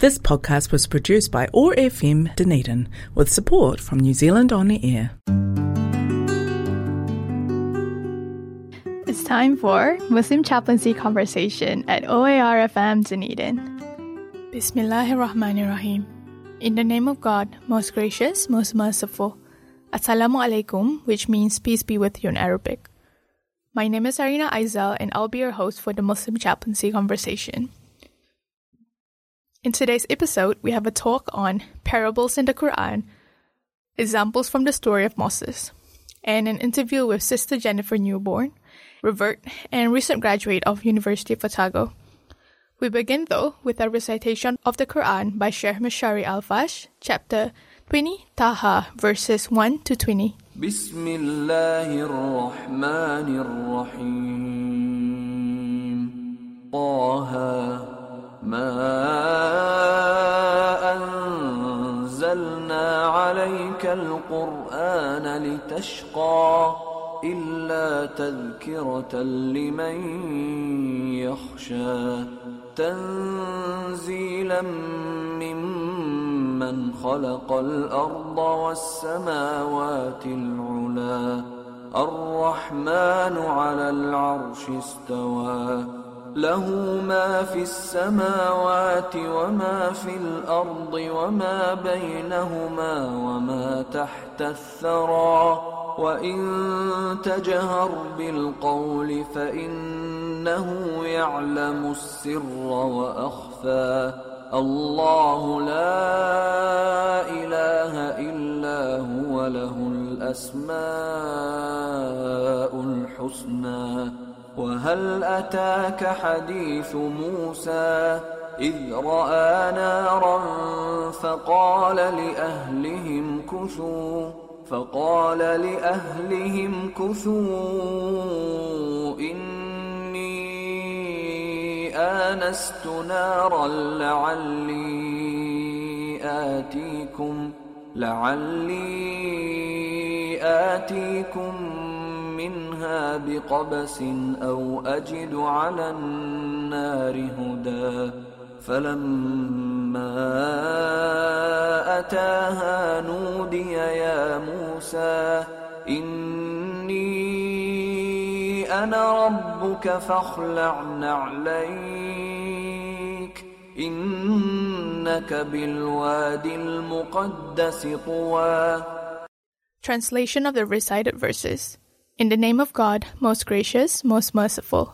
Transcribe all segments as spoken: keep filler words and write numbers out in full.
This podcast was produced by O A R F M Dunedin with support from New Zealand On Air. It's time for Muslim Chaplaincy Conversation at O A R F M Dunedin. Bismillahirrahmanirrahim. In the name of God, most gracious, most merciful. Assalamu alaikum, which means peace be with you in Arabic. My name is Arina Aizal and I'll be your host for the Muslim Chaplaincy Conversation. In today's episode, we have a talk on parables in the Quran, examples from the story of Moses, and an interview with Sister Jennifer Newborn, revert and recent graduate of University of Otago. We begin, though, with a recitation of the Quran by Sheikh Mashari Al-Fash, chapter twenty, Taha, verses one to twenty. Bismillahirrahmanirrahim. Taha. ما أنزلنا عليك القرآن لتشقى إلا تذكرة لمن يخشى تنزيلا ممن خلق الأرض والسماوات العلى الرحمن على العرش استوى له ما في السماوات وما في الأرض وما بينهما وما تحت الثرى وإن تجهر بالقول فإنه يعلم السر وأخفى الله لا إله إلا هو له الأسماء الحسنى وهل أتاك حديث موسى إذ رأى نارا فقال لأهلهم كثوا فقال لأهلهم كثوا إني آنست نارا لعلي آتيكم لعلي آتيكم منها بقبس أو أجد على النار هدى فلما أتاها نودي يا موسى إني أنا ربك فاخلع نعليك إنك بالوادي المقدس طوى. Translation of the recited verses. In the name of God, most gracious, most merciful.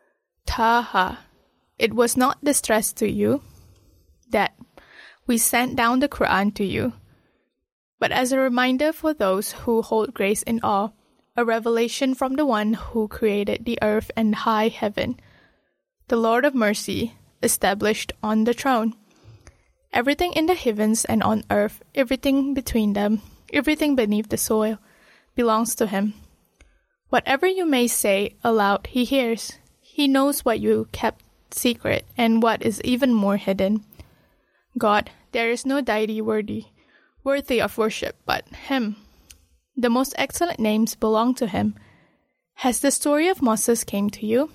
Taha. It was not distress to you that we sent down the Quran to you, but as a reminder for those who hold grace in awe, a revelation from the one who created the earth and high heaven, the Lord of mercy, established on the throne. Everything in the heavens and on earth, everything between them, everything beneath the soil, belongs to him. Whatever you may say aloud, he hears. He knows what you kept secret and what is even more hidden. God, there is no deity worthy, worthy of worship but him. The most excellent names belong to him. Has the story of Moses came to you?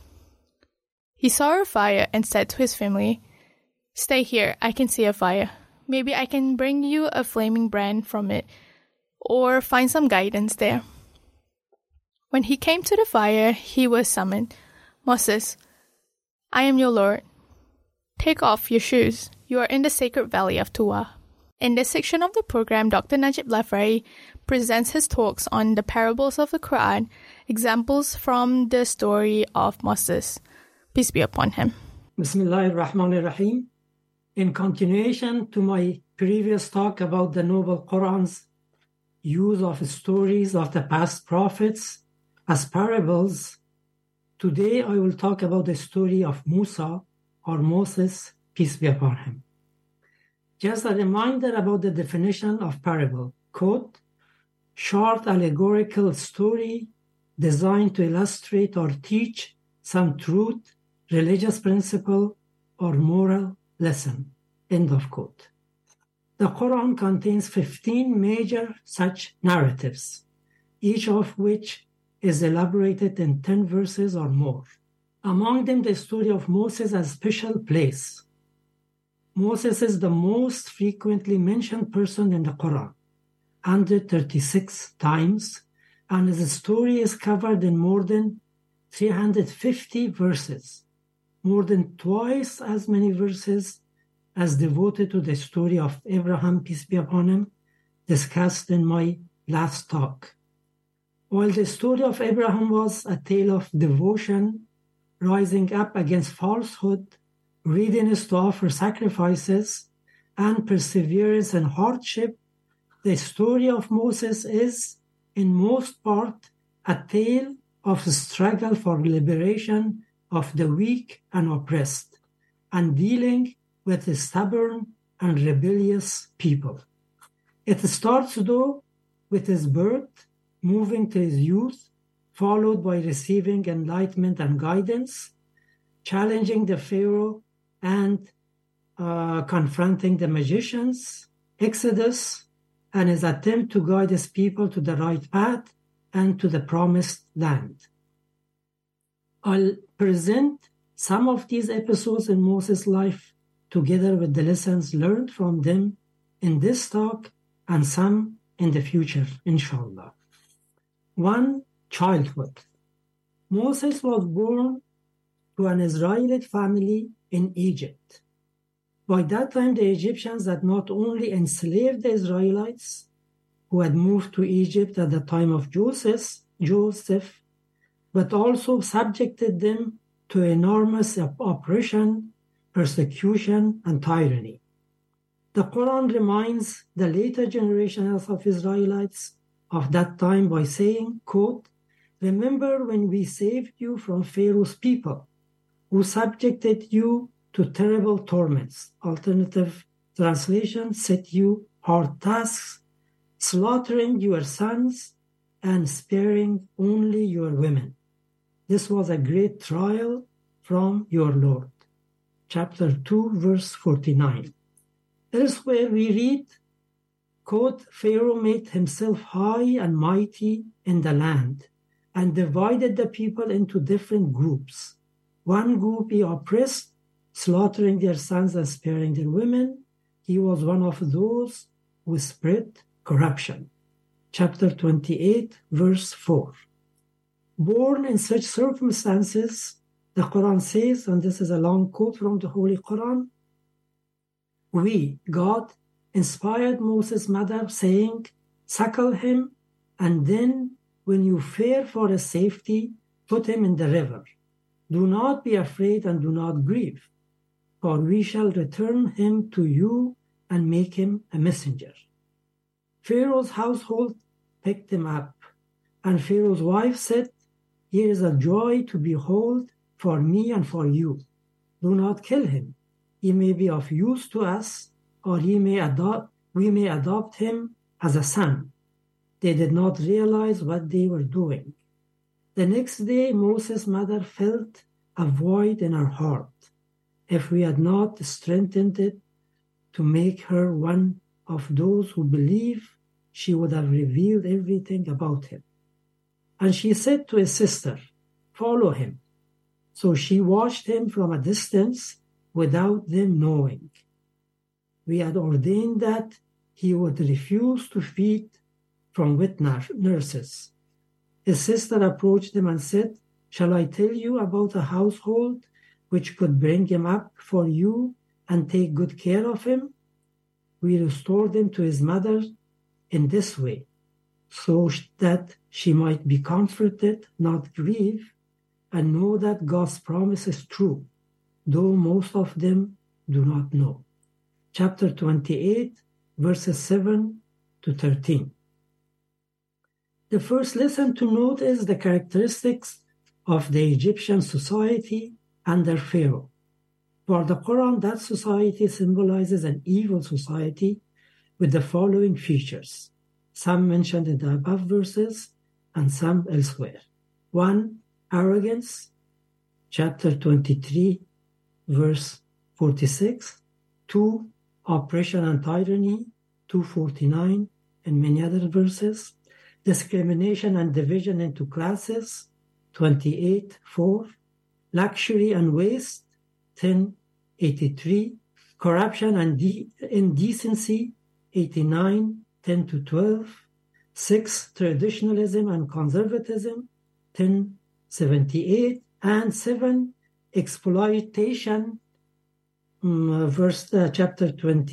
He saw a fire and said to his family, "Stay here, I can see a fire. Maybe I can bring you a flaming brand from it, or find some guidance there." When he came to the fire, he was summoned. "Moses, I am your Lord. Take off your shoes. You are in the sacred valley of Tuwa." In this section of the program, Doctor Najib Lafraie presents his talks on the parables of the Quran, examples from the story of Moses. Peace be upon him. Bismillahirrahmanirrahim. In continuation to my previous talk about the Noble Quran's use of stories of the past prophets as parables, today I will talk about the story of Musa or Moses, peace be upon him. Just a reminder about the definition of parable. Quote, short allegorical story designed to illustrate or teach some truth, religious principle, or moral lesson. End of quote. The Quran contains fifteen major such narratives, each of which is elaborated in ten verses or more. Among them, the story of Moses has a special place. Moses is the most frequently mentioned person in the Quran, one hundred thirty-six times, and his story is covered in more than three hundred fifty verses, more than twice as many verses as devoted to the story of Abraham, peace be upon him, discussed in my last talk. While the story of Abraham was a tale of devotion, rising up against falsehood, readiness to offer sacrifices, and perseverance in hardship, the story of Moses is, in most part, a tale of struggle for liberation of the weak and oppressed, and dealing with a stubborn and rebellious people. It starts, though, with his birth, moving to his youth, followed by receiving enlightenment and guidance, challenging the Pharaoh and uh, confronting the magicians, Exodus, and his attempt to guide his people to the right path and to the promised land. I'll present some of these episodes in Moses' life together with the lessons learned from them in this talk and some in the future, inshallah. One, childhood. Moses was born to an Israelite family in Egypt. By that time, the Egyptians had not only enslaved the Israelites who had moved to Egypt at the time of Joseph, Joseph, but also subjected them to enormous oppression, persecution, and tyranny. The Quran reminds the later generations of Israelites of that time by saying, quote, "Remember when we saved you from Pharaoh's people, who subjected you to terrible torments." Alternative translation, set you hard tasks, slaughtering your sons and sparing only your women. This was a great trial from your Lord. Chapter two, verse forty-nine. Elsewhere we read, quote, "Pharaoh made himself high and mighty in the land and divided the people into different groups. One group he oppressed, slaughtering their sons and sparing their women. He was one of those who spread corruption." Chapter twenty-eight, verse four. Born in such circumstances, the Quran says, and this is a long quote from the Holy Quran, "We, God, inspired Moses' mother, saying, 'Suckle him, and then when you fear for his safety, put him in the river. Do not be afraid and do not grieve, for we shall return him to you and make him a messenger.' Pharaoh's household picked him up, and Pharaoh's wife said, 'Here is a joy to behold for me and for you. Do not kill him. He may be of use to us, or he may adopt, we may adopt him as a son.' They did not realize what they were doing. The next day, Moses' mother felt a void in her heart. If we had not strengthened it to make her one of those who believe, she would have revealed everything about him. And she said to his sister, 'Follow him.' So she watched him from a distance without them knowing. We had ordained that he would refuse to feed from wet nurses. His sister approached him and said, 'Shall I tell you about a household which could bring him up for you and take good care of him?' We restored him to his mother in this way, so that she might be comforted, not grieve, and know that God's promise is true, though most of them do not know." Chapter twenty-eight, verses seven to thirteen. The first lesson to note is the characteristics of the Egyptian society under Pharaoh. For the Quran, that society symbolizes an evil society with the following features, some mentioned in the above verses and some elsewhere. One, arrogance, chapter twenty-three, verse forty-six. Two, oppression and tyranny, two forty-nine, and many other verses. Discrimination and division into classes, twenty-eight, four. Luxury and waste, ten eighty-three. corruption and de- indecency, eighty-nine, ten to twelve. Six, traditionalism and conservatism, ten, seventy-eight. And seven, exploitation, um, verse uh, chapter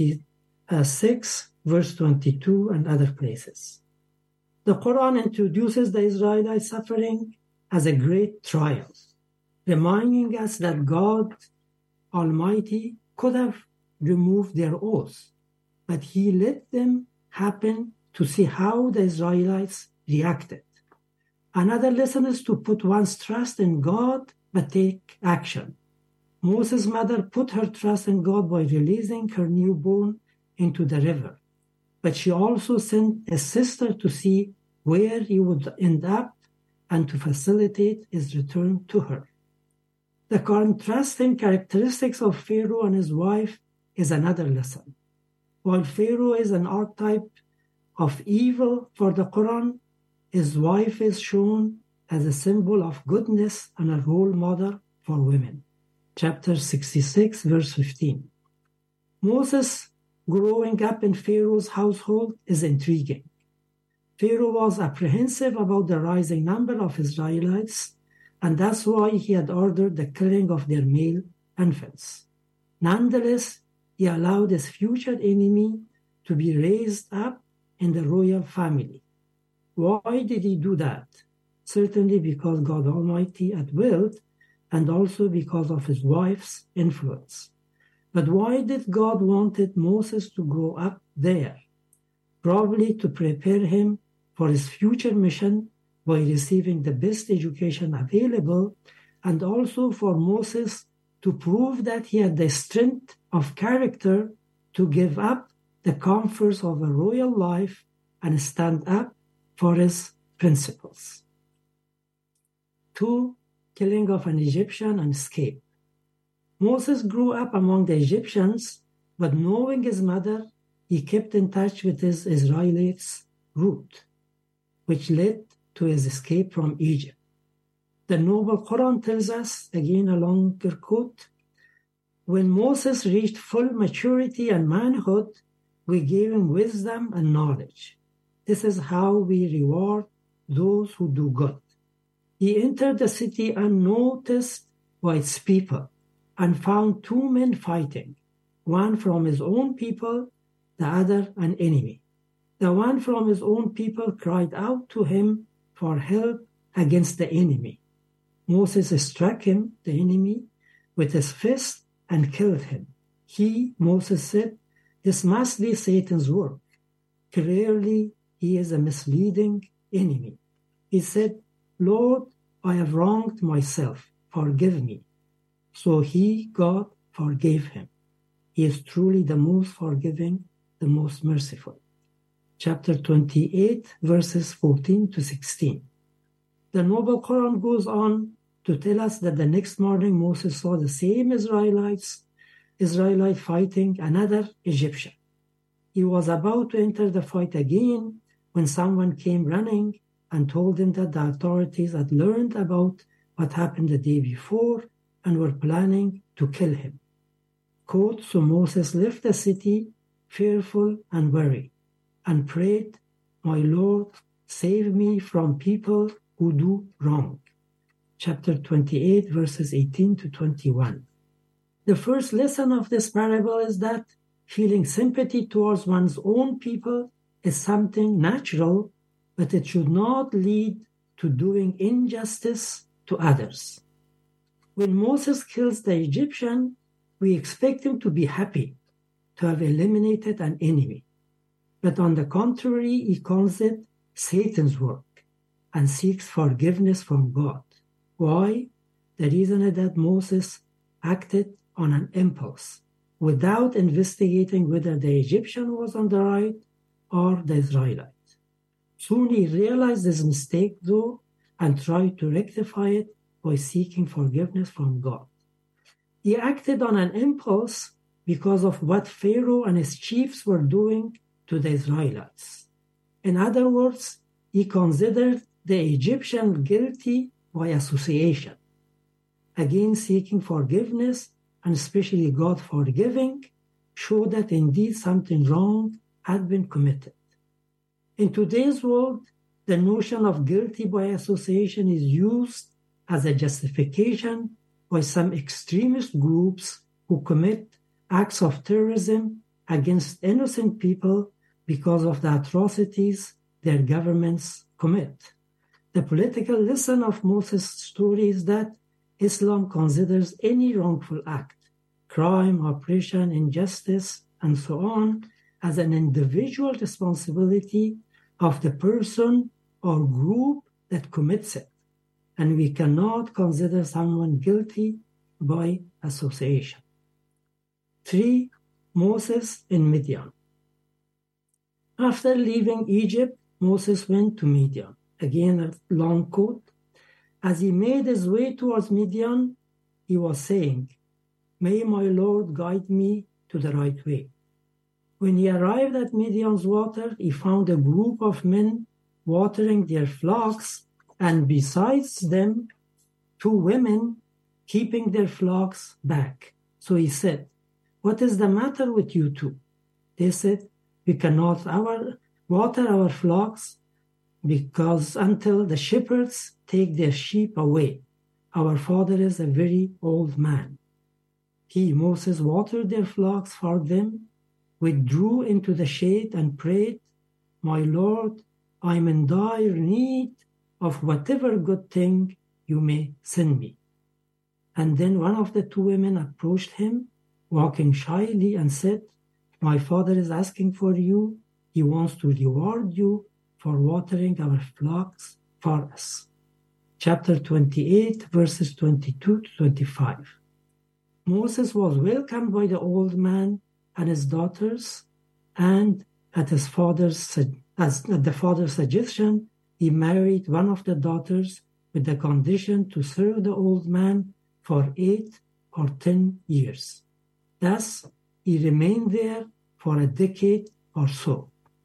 twenty-six, verse twenty-two, and other places. The Quran introduces the Israelite suffering as a great trial, reminding us that God Almighty could have removed their oaths, but He let them happen to see how the Israelites reacted. Another lesson is to put one's trust in God, but take action. Moses' mother put her trust in God by releasing her newborn into the river, but she also sent a sister to see where he would end up and to facilitate his return to her. The contrasting characteristics of Pharaoh and his wife is another lesson. While Pharaoh is an archetype of evil for the Quran, his wife is shown as a symbol of goodness and a role model for women. Chapter sixty-six, verse fifteen. Moses growing up in Pharaoh's household is intriguing. Pharaoh was apprehensive about the rising number of Israelites, and that's why he had ordered the killing of their male infants. Nonetheless, he allowed his future enemy to be raised up in the royal family. Why did he do that? Certainly because God Almighty had willed, and also because of his wife's influence. But why did God wanted Moses to grow up there? Probably to prepare him for his future mission by receiving the best education available, and also for Moses to prove that he had the strength of character to give up the comforts of a royal life and stand up for his principles. Two, killing of an Egyptian and escape. Moses grew up among the Egyptians, but knowing his mother, he kept in touch with his Israelites' root, which led to his escape from Egypt. The Noble Quran tells us, again a longer quote, when Moses reached full maturity and manhood, we gave him wisdom and knowledge. This is how we reward those who do good. He entered the city unnoticed by its people and found two men fighting, one from his own people, the other an enemy. The one from his own people cried out to him for help against the enemy. Moses struck him, the enemy, with his fist and killed him. He, Moses said, this must be Satan's work. Clearly, he is a misleading enemy. He said, Lord, I have wronged myself. Forgive me. So he, God, forgave him. He is truly the most forgiving, the most merciful. Chapter twenty-eight, verses fourteen to sixteen. The Noble Quran goes on to tell us that the next morning Moses saw the same Israelites, Israelite fighting another Egyptian. He was about to enter the fight again when someone came running and told him that the authorities had learned about what happened the day before and were planning to kill him. Quote, so Moses left the city fearful and worried and prayed, my Lord, save me from people who do wrong. Chapter twenty-eight, verses eighteen to twenty-one. The first lesson of this parable is that feeling sympathy towards one's own people is something natural, but it should not lead to doing injustice to others. When Moses kills the Egyptian, we expect him to be happy to have eliminated an enemy. But on the contrary, he calls it Satan's work and seeks forgiveness from God. Why? The reason is that Moses acted on an impulse without investigating whether the Egyptian was on the right or the Israelite. Soon he realized his mistake, though, and tried to rectify it by seeking forgiveness from God. He acted on an impulse because of what Pharaoh and his chiefs were doing to the Israelites. In other words, he considered the Egyptian guilty by association. Again, seeking forgiveness, and especially God forgiving, show that indeed something wrong had been committed. In today's world, the notion of guilty by association is used as a justification by some extremist groups who commit acts of terrorism against innocent people because of the atrocities their governments commit. The political lesson of Moses' story is that Islam considers any wrongful act, crime, oppression, injustice, and so on, as an individual responsibility of the person or group that commits it, and we cannot consider someone guilty by association. Three, Moses in Midian. After leaving Egypt, Moses went to Midian. Again, a long quote. As he made his way towards Midian, he was saying, "May my Lord guide me to the right way." When he arrived at Midian's water, he found a group of men watering their flocks, and besides them, two women keeping their flocks back. So he said, "What is the matter with you two?" They said, "We cannot our, water our flocks because until the shepherds take their sheep away. Our father is a very old man." He, Moses, watered their flocks for them, withdrew into the shade and prayed, "My Lord, I am in dire need of whatever good thing you may send me." And then one of the two women approached him, walking shyly, and said, "My father is asking for you. He wants to reward you for watering our flocks for us." Chapter twenty-eight, verses twenty-two to twenty-five. Moses was welcomed by the old man and his daughters, and at his father's as at the father's suggestion, he married one of the daughters with the condition to serve the old man for eight or ten years. Thus, he remained there for a decade or so.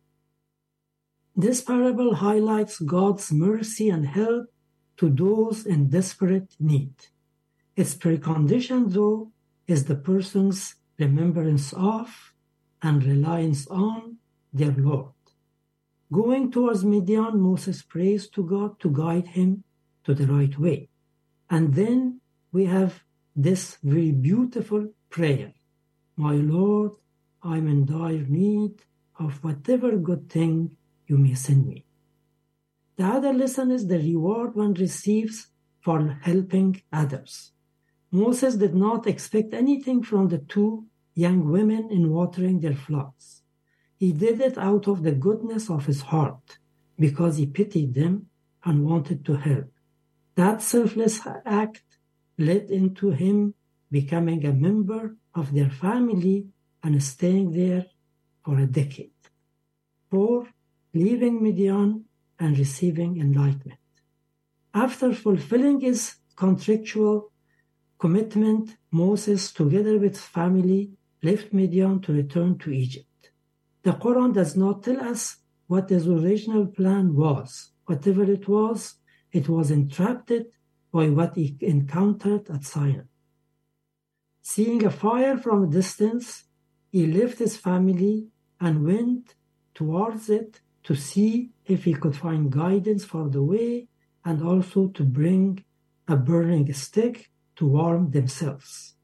This parable highlights God's mercy and help to those in desperate need. Its precondition, though, is the person's remembrance of and reliance on their Lord. Going towards Midian, Moses prays to God to guide him to the right way. And then we have this very beautiful prayer. "My Lord, I am in dire need of whatever good thing you may send me." The other lesson is the reward one receives for helping others. Moses did not expect anything from the two young women in watering their flocks. He did it out of the goodness of his heart, because he pitied them and wanted to help. That selfless act led into him becoming a member of their family and staying there for a decade. Four, leaving Midian and receiving enlightenment. After fulfilling his contractual commitment, Moses, together with family, left Midian to return to Egypt. The Quran does not tell us what his original plan was. Whatever it was, it was interrupted by what he encountered at Sinai. Seeing a fire from a distance, he left his family and went towards it to see if he could find guidance for the way and also to bring a burning stick to warm themselves.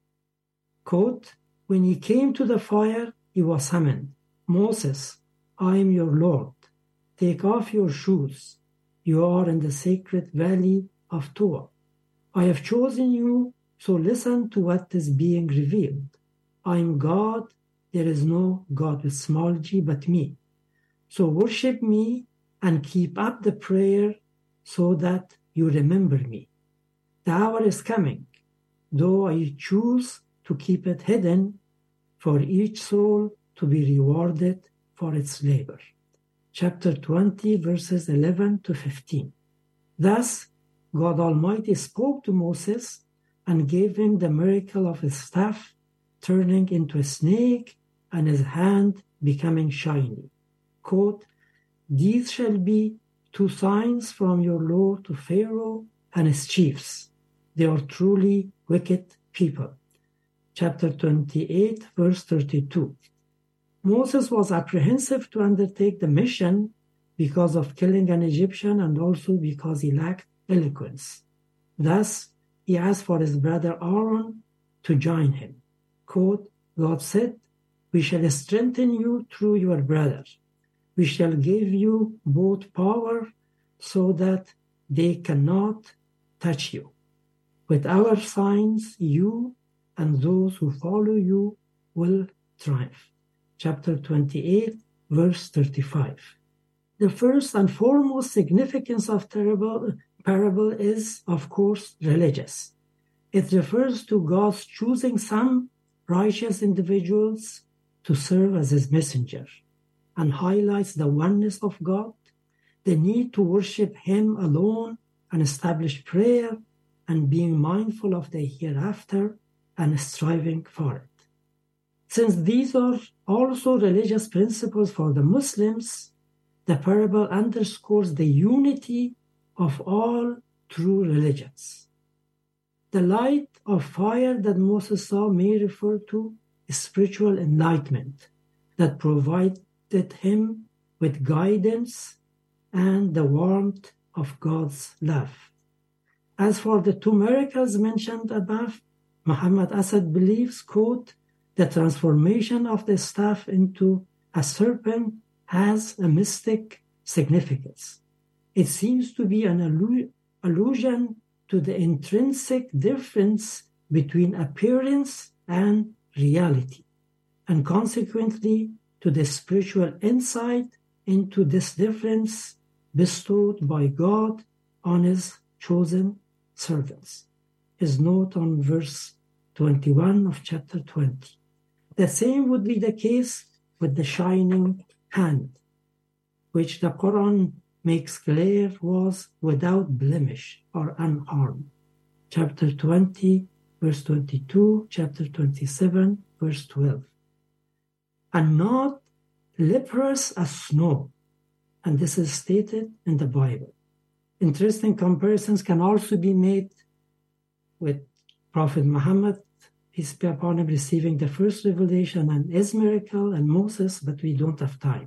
Quote, "When he came to the fire, he was summoned. 'Moses, I am your Lord. Take off your shoes. You are in the sacred valley of Torah. I have chosen you, so listen to what is being revealed. I am God. There is no God with small g but me. So worship me and keep up the prayer so that you remember me. The hour is coming, though I choose to keep it hidden, for each soul to be rewarded for its labor." Chapter twenty, verses eleven to fifteen. Thus, God Almighty spoke to Moses and gave him the miracle of his staff turning into a snake and his hand becoming shiny. Quote, "These shall be two signs from your Lord to Pharaoh and his chiefs. They are truly wicked people. chapter twenty-eight, verse thirty-two. Moses was apprehensive to undertake the mission because of killing an Egyptian and also because he lacked eloquence. Thus, he asked for his brother Aaron to join him. Quote, God said, we shall strengthen you through your brother. We shall give you both power so that they cannot touch you. With our signs, you and those who follow you will triumph. Chapter twenty-eight, verse thirty-five. The first and foremost significance of the parable is, of course, religious. It refers to God's choosing some righteous individuals to serve as his messenger and highlights the oneness of God, the need to worship him alone and establish prayer and being mindful of the hereafter and striving for it. Since these are also religious principles for the Muslims, the parable underscores the unity of all true religions. The light of fire that Moses saw may refer to spiritual enlightenment that provided him with guidance and the warmth of God's love. As for the two miracles mentioned above, Muhammad Asad believes, quote, the transformation of the staff into a serpent has a mystic significance. It seems to be an allu- allusion to the intrinsic difference between appearance and reality, and consequently to the spiritual insight into this difference bestowed by God on his chosen servants. His note on verse twenty-one of chapter twenty. The same would be the case with the shining hand, which the Quran makes clear was without blemish or unharmed. Chapter twenty, verse twenty-two, chapter twenty-seven, verse twelve. And not leprous as snow. And this is stated in the Bible. Interesting comparisons can also be made with Prophet Muhammad, peace be upon him, receiving the first revelation and his miracle, and Moses, but we don't have time.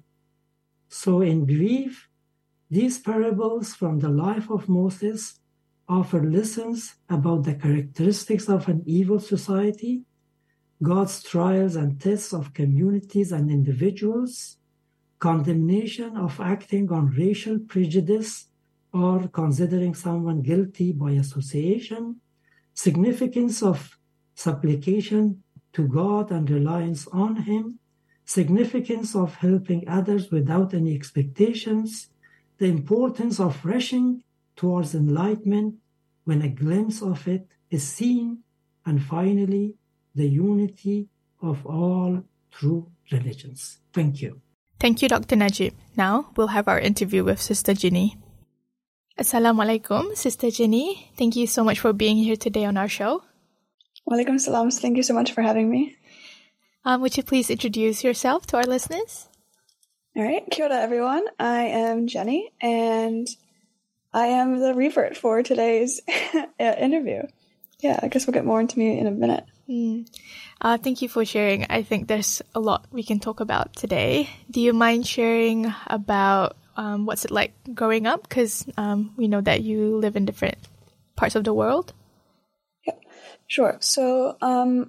So in brief, these parables from the life of Moses offer lessons about the characteristics of an evil society, God's trials and tests of communities and individuals, condemnation of acting on racial prejudice or considering someone guilty by association, significance of supplication to God and reliance on him, significance of helping others without any expectations, the importance of rushing towards enlightenment when a glimpse of it is seen, and finally, the unity of all true religions. Thank you. Thank you, Doctor Najib. Now we'll have our interview with Sister Ginny. Assalamualaikum, Sister Ginny. Thank you so much for being here today on our show. Walaikum salam. Thank you so much for having me. Um, would you please introduce yourself to our listeners? All right. Kia ora, everyone. I am Jenny, and I am the revert for today's interview. Yeah, I guess we'll get more into me in a minute. Mm. Uh, thank you for sharing. I think there's a lot we can talk about today. Do you mind sharing about um, what's it like growing up? Because um, we know that you live in different parts of the world. Yeah, sure. So um,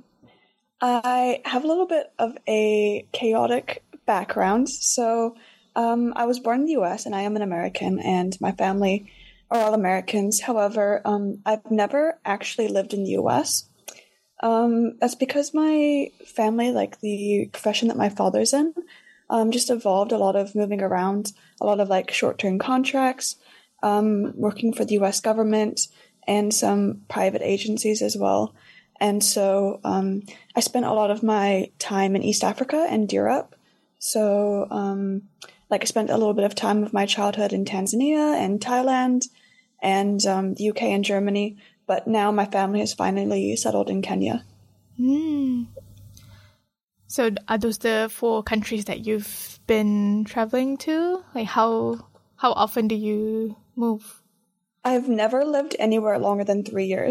I have a little bit of a chaotic background. So um, I was born in the U S and I am an American, and my family are all Americans. However, um, I've never actually lived in the U S. Um, that's because my family, like the profession that my father's in, um, just involved a lot of moving around, a lot of like short-term contracts, um, working for the U S government and some private agencies as well. And so um, I spent a lot of my time in East Africa and Europe. So um, like I spent a little bit of time of my childhood in Tanzania and Thailand and um, the U K and Germany. But now my family has finally settled in Kenya. Mm. So are those the four countries that you've been traveling to? Like how how often do you move? I've never lived anywhere longer than three years.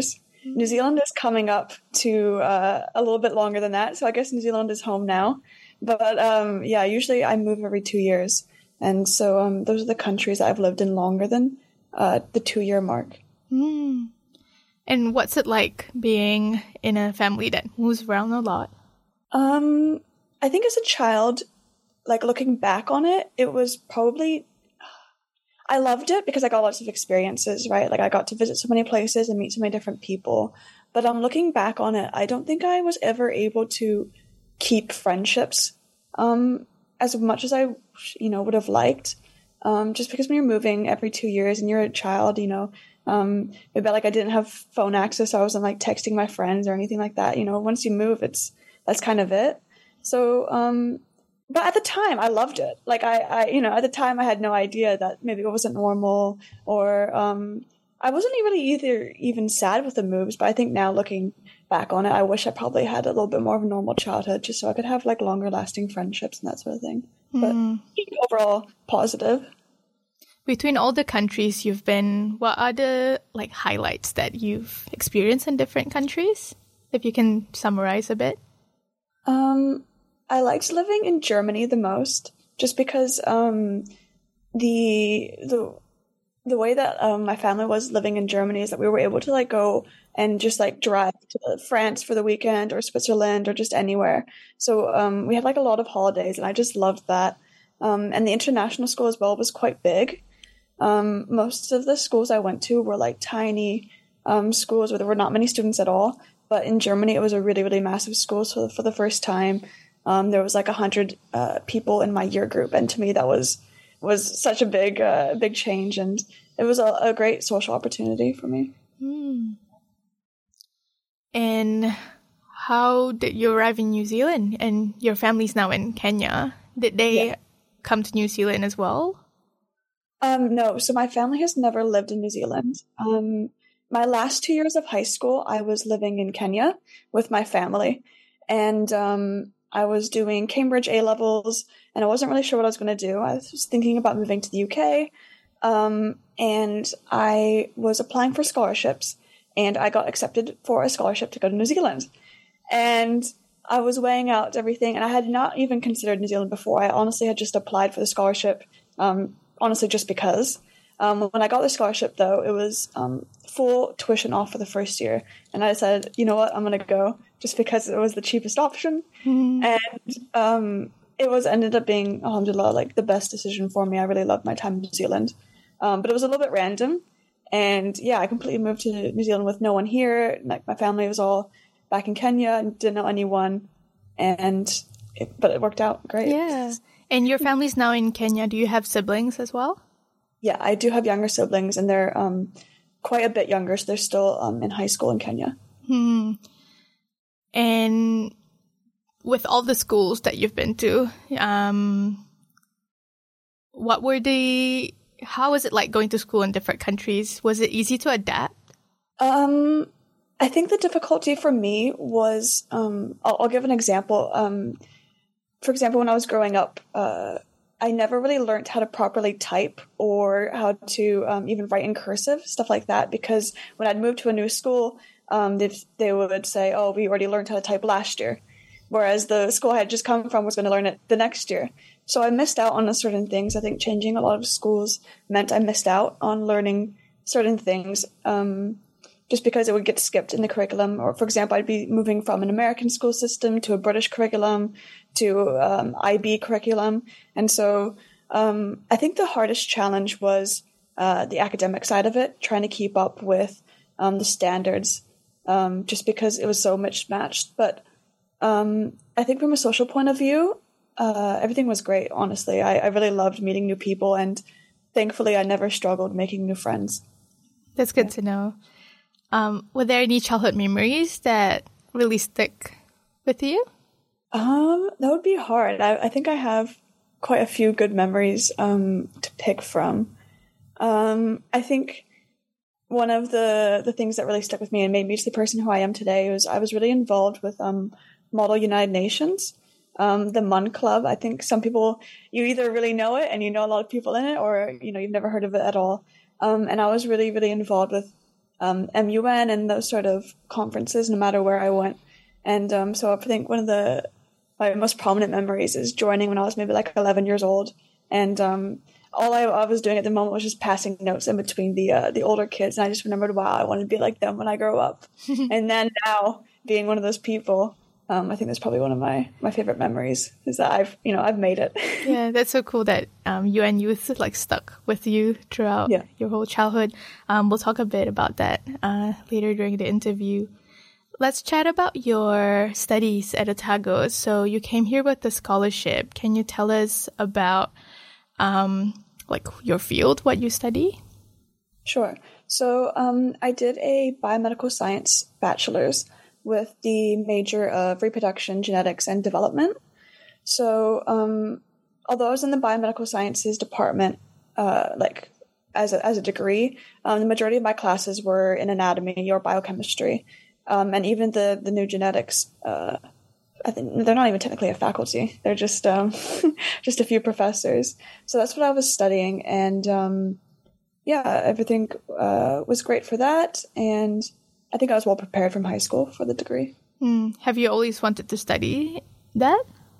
New Zealand is coming up to uh, a little bit longer than that, so I guess New Zealand is home now. But um, yeah, usually I move every two years, and so um, those are the countries that I've lived in longer than uh, the two-year mark. Mm. And what's it like being in a family that moves around a lot? Um, I think as a child, like looking back on it, it was probably, I loved it because I got lots of experiences, right? Like I got to visit so many places and meet so many different people. But um, looking back on it, I don't think I was ever able to keep friendships um, as much as I, you know, would have liked. Um, just because when you're moving every two years and you're a child, you know, um, maybe like I didn't have phone access, so I wasn't like texting my friends or anything like that. You know, once you move, it's, that's kind of it. So, um, but at the time I loved it. Like I, I, you know, at the time I had no idea that maybe it wasn't normal, or, um, I wasn't really either even sad with the moves, but I think now looking back on it, I wish I probably had a little bit more of a normal childhood just so I could have like longer lasting friendships and that sort of thing. Mm. But overall positive. Between all the countries you've been, what are the like highlights that you've experienced in different countries? If you can summarize a bit. Um, I liked living in Germany the most, just because um, the the the way that um, my family was living in Germany is that we were able to like go and just like drive to France for the weekend, or Switzerland, or just anywhere. So um, we had like a lot of holidays, and I just loved that. Um, and the international school as well was quite big. Um, most of the schools I went to were like tiny um, schools where there were not many students at all. But in Germany, it was a really, really massive school. So for the first time, um, there was like a hundred uh, people in my year group, and to me, that was was such a big, uh, big change, and it was a, a great social opportunity for me. Hmm. And how did you arrive in New Zealand? And your family's now in Kenya. Did they yeah. come to New Zealand as well? Um, no. So my family has never lived in New Zealand. Um, my last two years of high school, I was living in Kenya with my family, and um, I was doing Cambridge A-levels, and I wasn't really sure what I was going to do. I was thinking about moving to the U K, um, and I was applying for scholarships, and I got accepted for a scholarship to go to New Zealand. And I was weighing out everything, and I had not even considered New Zealand before. I honestly had just applied for the scholarship, um, honestly just because. Um, when I got the scholarship, though, it was um, full tuition off for the first year. And I said, you know what, I'm going to go just because it was the cheapest option. Mm. And um, it was ended up being, alhamdulillah, like the best decision for me. I really loved my time in New Zealand. Um, but it was a little bit random. And yeah, I completely moved to New Zealand with no one here. Like my family was all back in Kenya and didn't know anyone. And it, but it worked out great. Yeah. And your family's now in Kenya. Do you have siblings as well? Yeah, I do have younger siblings, and they're um, quite a bit younger, so they're still um, in high school in Kenya. Hmm. And with all the schools that you've been to, um, what were the, how was it like going to school in different countries? Was it easy to adapt? Um, I think the difficulty for me was, um, I'll, I'll give an example. Um, for example, when I was growing up, uh, I never really learned how to properly type or how to um, even write in cursive, stuff like that, because when I'd moved to a new school, um, they, they would say, oh, we already learned how to type last year, whereas the school I had just come from was going to learn it the next year. So I missed out on certain things. I think changing a lot of schools meant I missed out on learning certain things um, just because it would get skipped in the curriculum. Or, for example, I'd be moving from an American school system to a British curriculum to um, I B curriculum. And so um, I think the hardest challenge was uh, the academic side of it, trying to keep up with um, the standards, um, just because it was so mismatched. But um, I think from a social point of view, uh, everything was great, honestly. I, I really loved meeting new people, and thankfully I never struggled making new friends. That's good yeah. to know. Um, were there any childhood memories that really stick with you? Um, that would be hard. I, I think I have quite a few good memories um, to pick from. Um, I think one of the, the things that really stuck with me and made me the person who I am today was I was really involved with um, Model United Nations, um, the M U N Club. I think some people, you either really know it and you know a lot of people in it, or you know you've never heard of it at all. Um, and I was really, really involved with um, M U N and those sort of conferences, no matter where I went. And um, so I think one of the my most prominent memories is joining when I was maybe like eleven years old. And um, all I, I was doing at the moment was just passing notes in between the uh, the older kids. And I just remembered, wow, I want to be like them when I grow up. And then now being one of those people, um, I think that's probably one of my, my favorite memories is that I've, you know, I've made it. Yeah, that's so cool that um, U N Youth like stuck with you throughout yeah. your whole childhood. Um, we'll talk a bit about that uh, later during the interview. Let's chat about your studies at Otago. So you came here with a scholarship. Can you tell us about um, like your field, what you study? Sure. So um, I did a biomedical science bachelor's with the major of reproduction, genetics, and development. So um, although I was in the biomedical sciences department, uh, like as a, as a degree, um, the majority of my classes were in anatomy or biochemistry. Um, and even the, the new genetics, uh, I think they're not even technically a faculty. They're just um, just a few professors. So that's what I was studying. And um, yeah, everything uh, was great for that. And I think I was well prepared from high school for the degree. Mm. Have you always wanted to study that?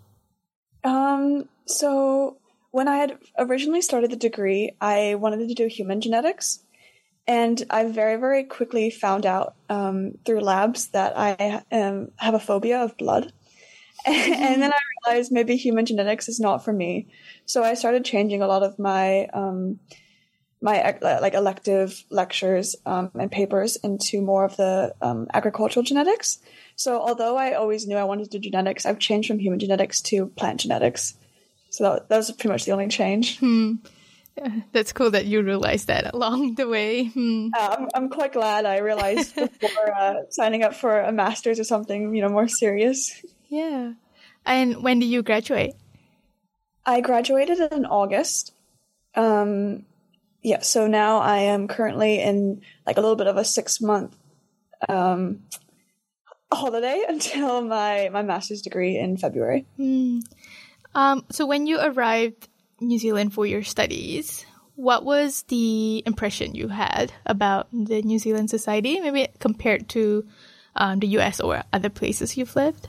Um, so when I had originally started the degree, I wanted to do human genetics. And I very, very quickly found out um, through labs that I um, have a phobia of blood. And then I realized maybe human genetics is not for me. So I started changing a lot of my um, my like elective lectures um, and papers into more of the um, agricultural genetics. So although I always knew I wanted to do genetics, I've changed from human genetics to plant genetics. So that, that was pretty much the only change. Hmm. That's cool that you realized that along the way. Hmm. Uh, I'm, I'm quite glad I realized before uh, signing up for a master's or something, you know, more serious. Yeah. And when did you graduate? I graduated in August. Um, yeah, so now I am currently in like a little bit of a six month um, holiday until my, my master's degree in February. Hmm. Um, so when you arrived New Zealand for your studies, what was the impression you had about the New Zealand society, maybe compared to um, the U S or other places you've lived?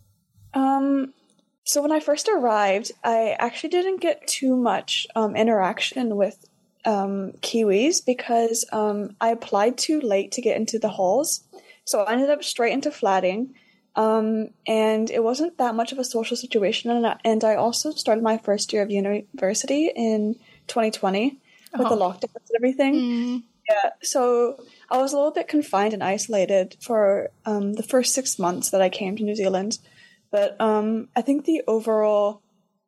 Um, so when I first arrived, I actually didn't get too much um, interaction with um, Kiwis because um, I applied too late to get into the halls. So I ended up straight into flatting. Um, and it wasn't that much of a social situation. And I, and I also started my first year of university in twenty twenty with oh. the lockdowns and everything. Mm. Yeah, so I was a little bit confined and isolated for um, the first six months that I came to New Zealand. But um, I think the overall,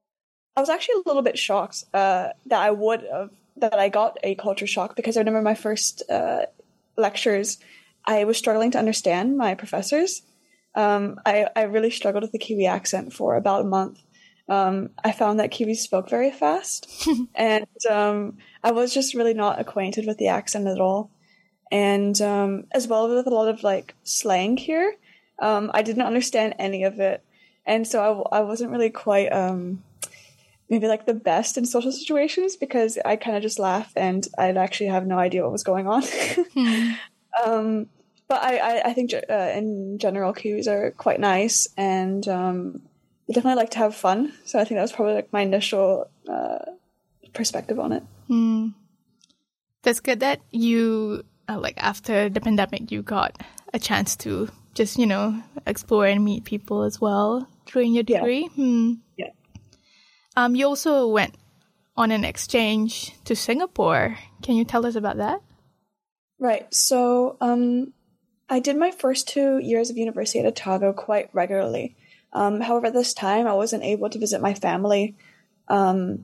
I was actually a little bit shocked uh, that I would have, that I got a culture shock because I remember my first uh, lectures, I was struggling to understand my professors. Um, I, I really struggled with the Kiwi accent for about a month. Um, I found that Kiwis spoke very fast, and um, I was just really not acquainted with the accent at all. And um, as well with a lot of like slang here, um, I didn't understand any of it, and so I, I wasn't really quite um, maybe like the best in social situations because I kind of just laugh and I'd actually have no idea what was going on. hmm. um, But I, I, I think uh, in general, Kiwis are quite nice and um, they definitely like to have fun. So I think that was probably like my initial uh, perspective on it. Mm. That's good that you, uh, like after the pandemic, you got a chance to just, you know, explore and meet people as well during your degree. Yeah. Hmm. Yeah. Um, you also went on an exchange to Singapore. Can you tell us about that? Right. So, um, I did my first two years of university at Otago quite regularly. Um, however, this time I wasn't able to visit my family um,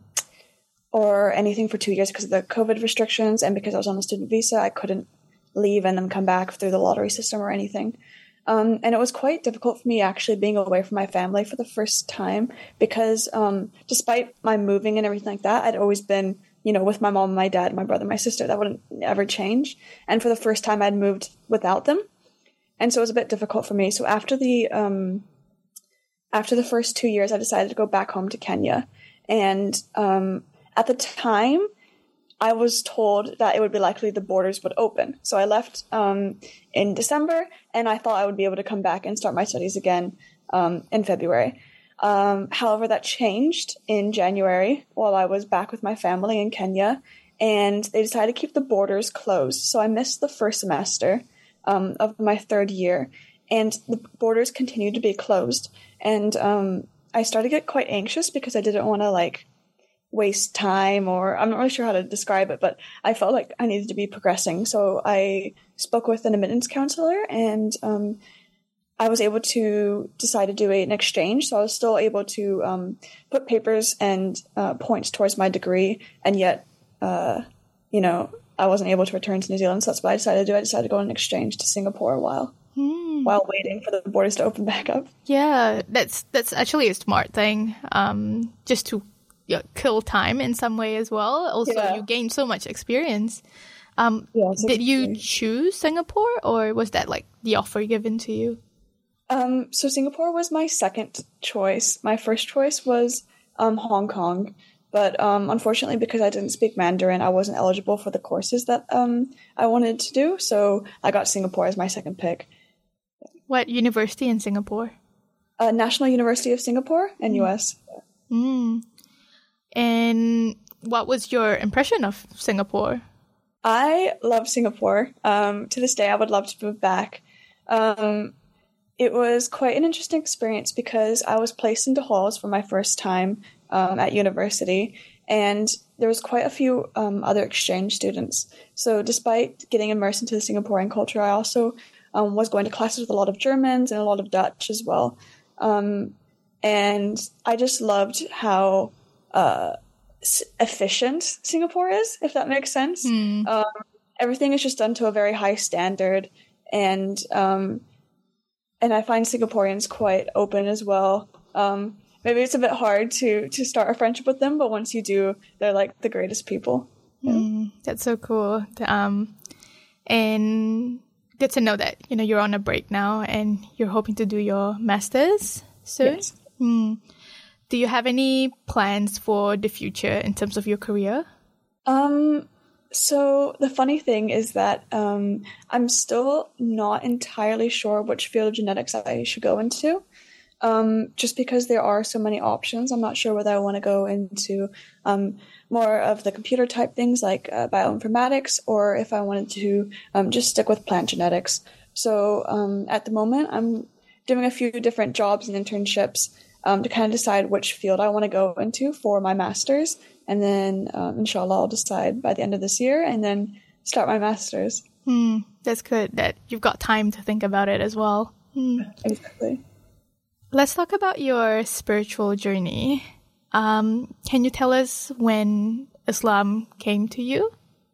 or anything for two years because of the COVID restrictions, and because I was on a student visa, I couldn't leave and then come back through the lottery system or anything. Um, and it was quite difficult for me actually being away from my family for the first time because um, despite my moving and everything like that, I'd always been, you know, with my mom, my dad, my brother, my sister. That wouldn't ever change. And for the first time, I'd moved without them. And so it was a bit difficult for me. So after the um, after the first two years, I decided to go back home to Kenya. And um, at the time, I was told that it would be likely the borders would open. So I left um, in December, and I thought I would be able to come back and start my studies again um, in February. Um, however, that changed in January while I was back with my family in Kenya, and they decided to keep the borders closed. So I missed the first semester um, of my third year, and the borders continued to be closed. And um, I started to get quite anxious because I didn't want to, like, waste time, or I'm not really sure how to describe it, but I felt like I needed to be progressing. So I spoke with an admittance counselor, and um, I was able to decide to do an exchange. So I was still able to um, put papers and uh, points towards my degree, and yet, uh, you know, I wasn't able to return to New Zealand. So that's what I decided to do. I decided to go on an exchange to Singapore a while, hmm. while waiting for the borders to open back up. Yeah, that's that's actually a smart thing, um, just to you know, kill time in some way as well. Also, yeah. You gain so much experience. Um, yeah, did you choose Singapore, or was that like the offer given to you? Um, so Singapore was my second choice. My first choice was um, Hong Kong, but um, unfortunately, because I didn't speak Mandarin, I wasn't eligible for the courses that um, I wanted to do. So I got Singapore as my second pick. What university in Singapore? Uh, National University of Singapore in mm. U S. Mm. And what was your impression of Singapore? I love Singapore. Um, to this day, I would love to move back. Um, it was quite an interesting experience because I was placed into halls for my first time um, at university, and there was quite a few um, other exchange students. So despite getting immersed into the Singaporean culture, I also um, was going to classes with a lot of Germans and a lot of Dutch as well. Um, and I just loved how uh, efficient Singapore is, if that makes sense. Mm. Um, everything is just done to a very high standard, and um, and I find Singaporeans quite open as well. Um, maybe it's a bit hard to to start a friendship with them, but once you do, they're like the greatest people. Yeah. Mm, that's so cool. Um, and good to know that you know you're on a break now, and you're hoping to do your masters soon. Yes. Mm. Do you have any plans for the future in terms of your career? Um, so the funny thing is that um, I'm still not entirely sure which field of genetics I should go into. Um, just because there are so many options, I'm not sure whether I want to go into um, more of the computer type things like uh, bioinformatics, or if I wanted to um, just stick with plant genetics. So um, at the moment, I'm doing a few different jobs and internships Um, to kind of decide which field I want to go into for my master's. And then, um, inshallah, I'll decide by the end of this year and then start my master's. Mm, that's good that you've got time to think about it as well. Mm. Exactly. Let's talk about your spiritual journey. Um, can you tell us when Islam came to you?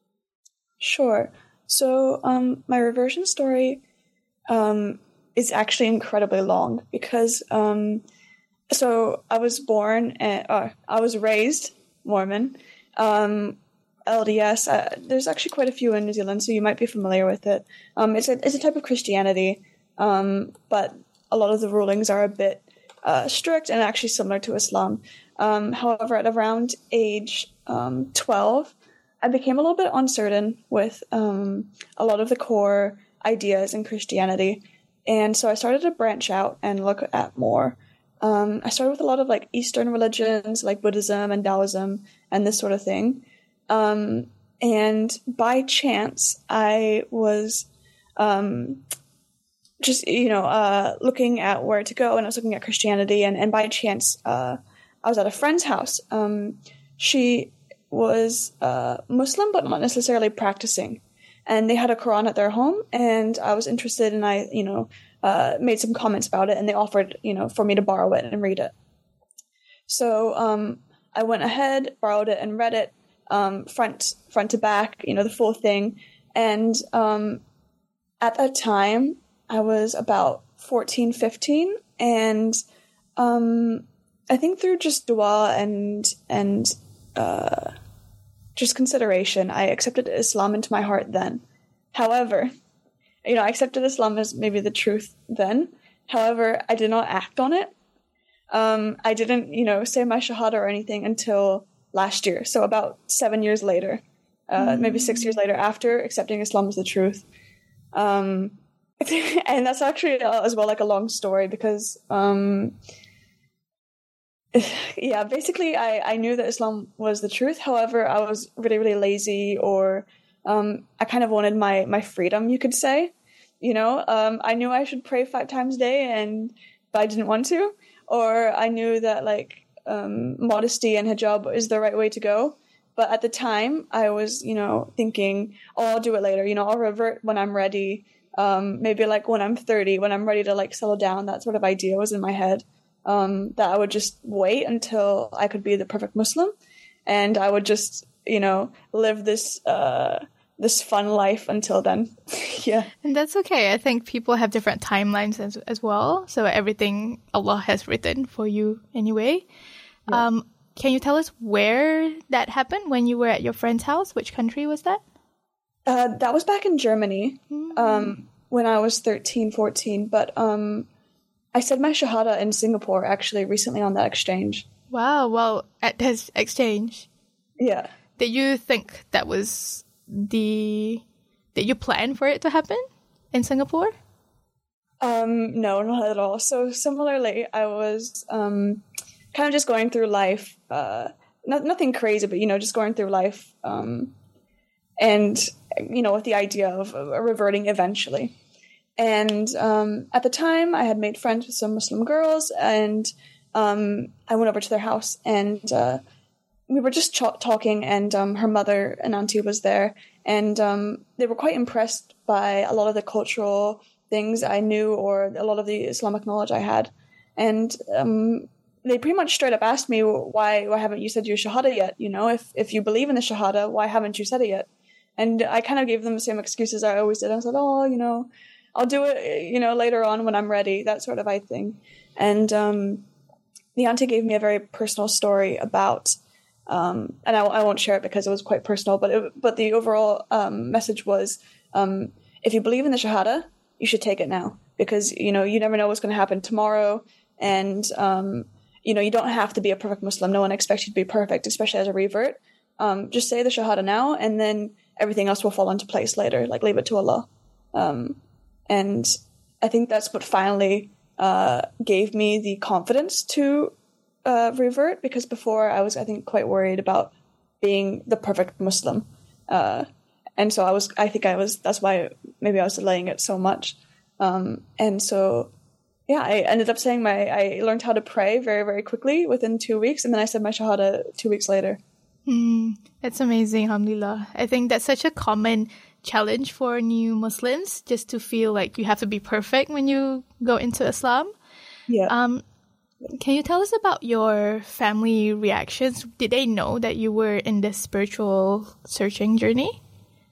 Sure. So um, my reversion story um, is actually incredibly long because... Um, So I was born, and, uh, I was raised Mormon, um, L D S. Uh, there's actually quite a few in New Zealand, so you might be familiar with it. Um, it's a it's a type of Christianity, um, but a lot of the rulings are a bit uh, strict and actually similar to Islam. Um, however, at around age um, twelve, I became a little bit uncertain with um, a lot of the core ideas in Christianity, and so I started to branch out and look at more. Um, I started with a lot of like Eastern religions, like Buddhism and Taoism and this sort of thing. Um, and by chance, I was um, just, you know, uh, looking at where to go, and I was looking at Christianity. And, and by chance, uh, I was at a friend's house. Um, she was uh, Muslim, but not necessarily practicing. And they had a Quran at their home, and I was interested, and I, you know, Uh, made some comments about it, and they offered, you know, for me to borrow it and read it. So um, I went ahead, borrowed it, and read it um, front front to back, you know, the full thing. And um, at that time, I was about fourteen, fifteen, and um, I think through just dua and and uh, just consideration, I accepted Islam into my heart then. However, You know, I accepted Islam as maybe the truth then. However, I did not act on it. Um, I didn't, you know, say my shahada or anything until last year. So about seven years later. uh, Mm. maybe six years later after accepting Islam as the truth. Um, and that's actually uh, as well like a long story because, um, yeah, basically I, I knew that Islam was the truth. However, I was really, really lazy, or um, I kind of wanted my, my freedom, you could say. You know, um, I knew I should pray five times a day, and but I didn't want to. Or I knew that like um, modesty and hijab is the right way to go. But at the time, I was, you know, thinking, oh, I'll do it later. You know, I'll revert when I'm ready. Um, maybe like when I'm thirty, when I'm ready to like settle down. That sort of idea was in my head. Um, that I would just wait until I could be the perfect Muslim, and I would just, you know, live this uh, this fun life until then. Yeah, And that's okay. I think people have different timelines as, as well. So everything Allah has written for you anyway. Yeah. Um, can you tell us where that happened when you were at your friend's house? Which country was that? uh, that was back in Germany Mm. um, when I was thirteen, fourteen. But um, I said my Shahada in Singapore actually recently on that exchange. Wow. Well, at this exchange, Yeah. did you think that was the... Did you plan for it to happen in Singapore? Um, no, not at all. So similarly, I was um, kind of just going through life, uh, not, nothing crazy, but, you know, just going through life, um, and, you know, with the idea of uh, reverting eventually. And um, at the time, I had made friends with some Muslim girls, and um, I went over to their house, and uh, we were just ch- talking, and um, her mother, an auntie, was there, and um, they were quite impressed by a lot of the cultural things I knew, or a lot of the Islamic knowledge I had. And um, they pretty much straight up asked me, why why haven't you said your Shahada yet? You know, if, if you believe in the Shahada, why haven't you said it yet? And I kind of gave them the same excuses I always did. I said, oh, you know, I'll do it, you know, later on when I'm ready, that sort of I thing. And um, the auntie gave me a very personal story about, um, and I, I won't share it because it was quite personal, but it, but the overall um, message was, um, if you believe in the Shahada, you should take it now, because, you know, you never know what's going to happen tomorrow. And, um, you know, you don't have to be a perfect Muslim. No one expects you to be perfect, especially as a revert. Um, just say the Shahada now, and then everything else will fall into place later. Like, leave it to Allah. Um, and I think that's what finally uh, gave me the confidence to uh, revert, because before I was, I think, quite worried about being the perfect Muslim. Uh, and so I was, I think I was, that's why maybe I was delaying it so much. Um, and so, yeah, I ended up saying my, I learned how to pray very, very quickly within two weeks. And then I said my Shahada two weeks later. Mm, that's amazing, alhamdulillah. I think that's such a common challenge for new Muslims, just to feel like you have to be perfect when you go into Islam. Yeah. Um, can you tell us about your family reactions? Did they know that you were in this spiritual searching journey?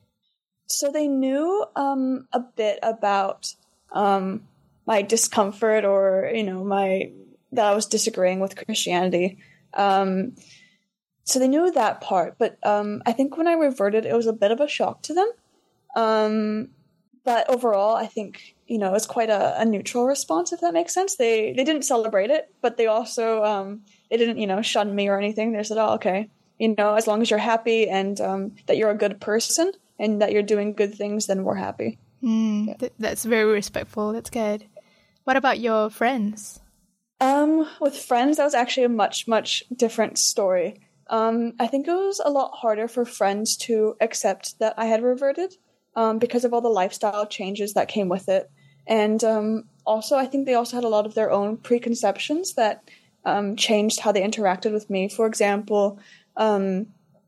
So they knew um, a bit about um, my discomfort, or, you know, my that I was disagreeing with Christianity. Um, so they knew that part. But um, I think when I reverted, it was a bit of a shock to them. Um, but overall, I think, you know, it's quite a, a neutral response, if that makes sense. They they didn't celebrate it, but they also um, they didn't, you know, shun me or anything. They said, "Oh, okay, you know, as long as you're happy and um, that you're a good person and that you're doing good things, then we're happy." Mm, Yeah. th- that's very respectful. That's good. What about your friends? Um, with friends, that was actually a much, much different story. Um, I think it was a lot harder for friends to accept that I had reverted, um, because of all the lifestyle changes that came with it. And um, also, I think they also had a lot of their own preconceptions that um, changed how they interacted with me. For example, um,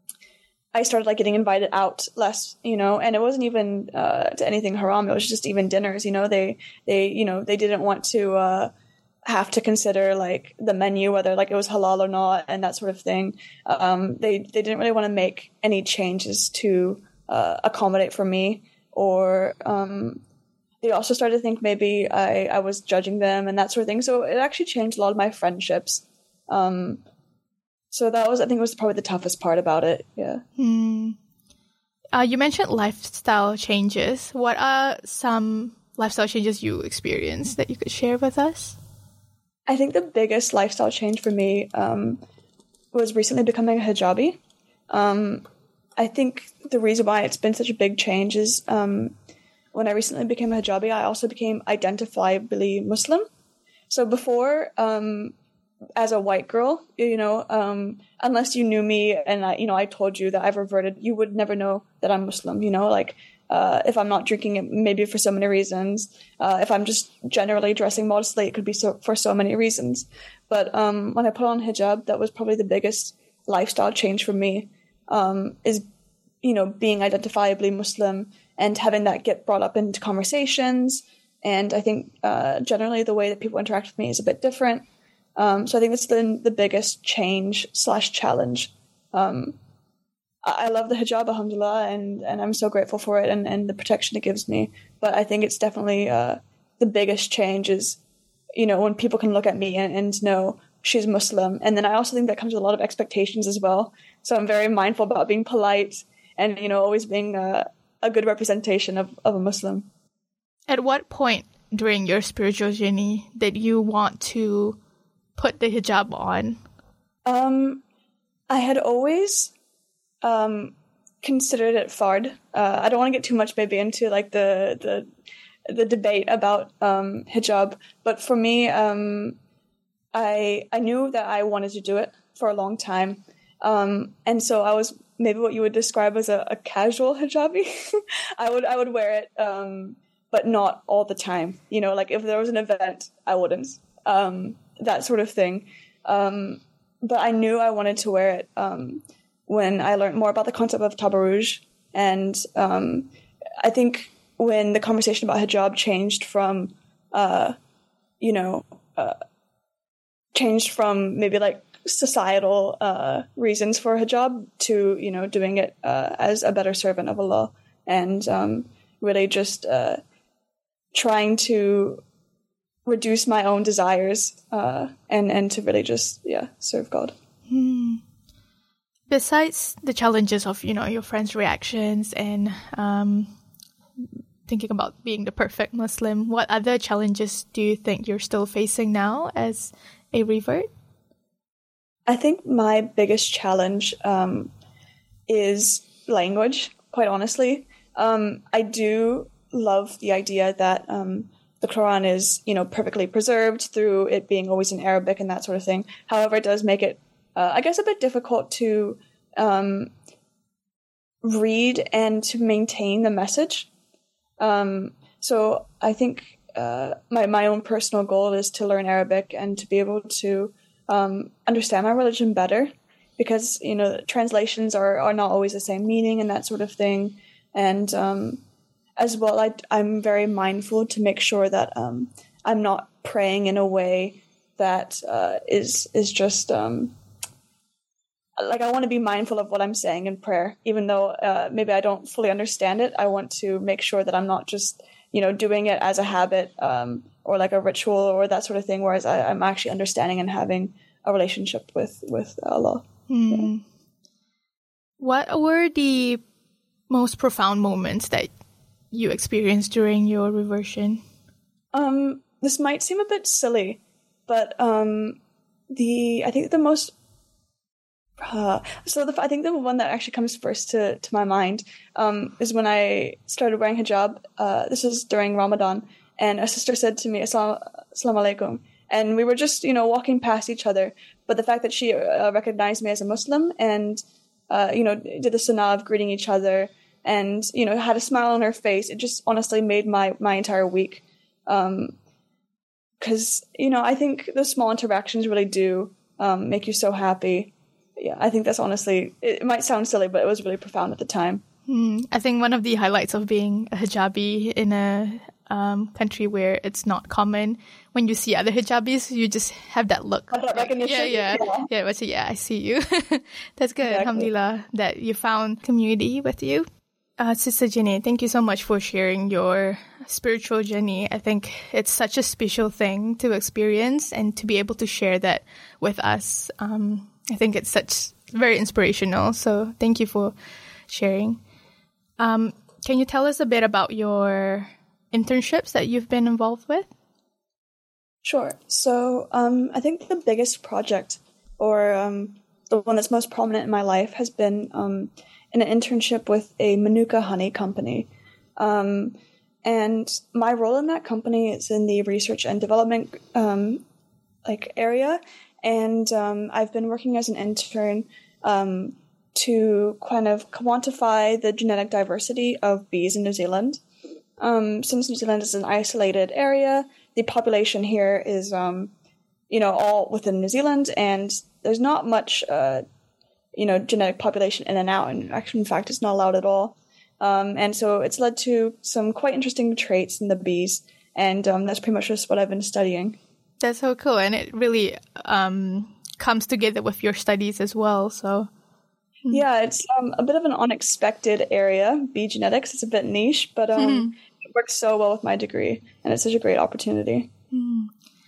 I started like getting invited out less, you know, and it wasn't even uh, to anything haram. It was just even dinners, you know. They, they, you know, they didn't want to uh, have to consider like the menu, whether like it was halal or not, and that sort of thing. Um, they, they didn't really want to make any changes to uh, accommodate for me, or um, they also started to think maybe I, I was judging them and that sort of thing. So it actually changed a lot of my friendships. Um, So that was, I think, was probably the toughest part about it. Yeah. Hmm. Uh, you mentioned lifestyle changes. What are some lifestyle changes you experienced that you could share with us? I think the biggest lifestyle change for me um, was recently becoming a hijabi. Um, I think the reason why it's been such a big change is um, when I recently became a hijabi, I also became identifiably Muslim. So before, um, as a white girl, you know, um, unless you knew me and I, you know, I told you that I've reverted, you would never know that I'm Muslim. You know, like uh, if I'm not drinking it, maybe for so many reasons. Uh, if I'm just generally dressing modestly, it could be so for so many reasons. But um, when I put on hijab, that was probably the biggest lifestyle change for me. Um, is you know being identifiably Muslim and having that get brought up into conversations. And I think uh, generally the way that people interact with me is a bit different. Um, so I think that's been the biggest change slash challenge. Um, I, I love the hijab, alhamdulillah, and, and I'm so grateful for it and, and the protection it gives me. But I think it's definitely uh, the biggest change is, you know, when people can look at me and, and know she's Muslim. And then I also think that comes with a lot of expectations as well. So I'm very mindful about being polite and, you know, always being a, a good representation of, of a Muslim. At what point during your spiritual journey did you want to put the hijab on? Um, I had always um, considered it fard. Uh, I don't want to get too much maybe into like the the, the debate about um, hijab, but for me, um, I I knew that I wanted to do it for a long time, um, and so I was maybe what you would describe as a, a casual hijabi. I would I would wear it, um, but not all the time. You know, like if there was an event, I wouldn't. Um, that sort of thing. Um, but I knew I wanted to wear it um, when I learned more about the concept of tabarruj. And um, I think when the conversation about hijab changed from, uh, you know, uh, changed from maybe like societal uh, reasons for hijab to, you know, doing it uh, as a better servant of Allah and um, really just uh, trying to reduce my own desires uh, and, and to really just, yeah, serve God. Hmm. Besides the challenges of, you know, your friends' reactions and um, thinking about being the perfect Muslim, what other challenges do you think you're still facing now as a revert? I think my biggest challenge um, is language, quite honestly. Um, I do love the idea that um, the Quran is, you know, perfectly preserved through it being always in Arabic and that sort of thing. However, it does make it, uh, I guess, a bit difficult to um, read and to maintain the message. Um, so I think uh, my, my own personal goal is to learn Arabic and to be able to um, understand my religion better because, you know, translations are, are not always the same meaning and that sort of thing. And um as well, I, I'm very mindful to make sure that um, I'm not praying in a way that uh, is is just um, like I want to be mindful of what I'm saying in prayer, even though uh, maybe I don't fully understand it. I want to make sure that I'm not just, you know, doing it as a habit um, or like a ritual or that sort of thing. Whereas I, I'm actually understanding and having a relationship with with Allah. Hmm. Yeah. What were the most profound moments that you experienced during your reversion? Um, this might seem a bit silly, but um, the I think the most uh, so the I think the one that actually comes first to, to my mind um, is when I started wearing hijab. Uh, this was during Ramadan, and a sister said to me, "Assalamu alaikum," and we were just you know walking past each other. But the fact that she uh, recognized me as a Muslim and uh, you know did the sunnah of greeting each other. And, you know, had a smile on her face. It just honestly made my, my entire week. Um, cause, you know, I think those small interactions really do, um, make you so happy. Yeah. I think that's honestly, it, it might sound silly, but it was really profound at the time. Mm, I think one of the highlights of being a hijabi in a, um, country where it's not common, when you see other hijabis, you just have that look. Oh, that recognition. Yeah, yeah. Yeah, yeah, but yeah, I see you. That's good. Exactly. Alhamdulillah that you found community with you. Uh, Sister Jenny, thank you so much for sharing your spiritual journey. I think it's such a special thing to experience and to be able to share that with us. Um, I think it's such very inspirational. So thank you for sharing. Um, can you tell us a bit about your internships that you've been involved with? Sure. So um, I think the biggest project or um, the one that's most prominent in my life has been um, in an internship with a Manuka honey company. Um, and my role in that company is in the research and development um, like area. And um, I've been working as an intern um, to kind of quantify the genetic diversity of bees in New Zealand. Um, since New Zealand is an isolated area, the population here is, um, you know, all within New Zealand, and there's not much, uh, you know, genetic population in and out. And actually, in fact, it's not allowed at all. Um, and so it's led to some quite interesting traits in the bees, and um, that's pretty much just what I've been studying. That's so cool, and it really um, comes together with your studies as well. So, yeah, it's um, a bit of an unexpected area, bee genetics. It's a bit niche, but um, mm-hmm. it works so well with my degree, and it's such a great opportunity. Mm.